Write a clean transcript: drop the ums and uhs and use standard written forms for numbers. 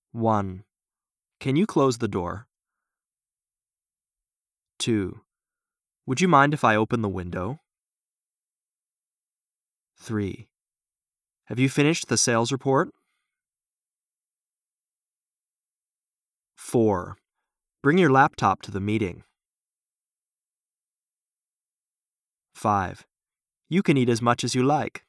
1. Can you close the door? 2. Would you mind if I open the window? 3. Have you finished the sales report? 4. Bring your laptop to the meeting. 5. You can eat as much as you like.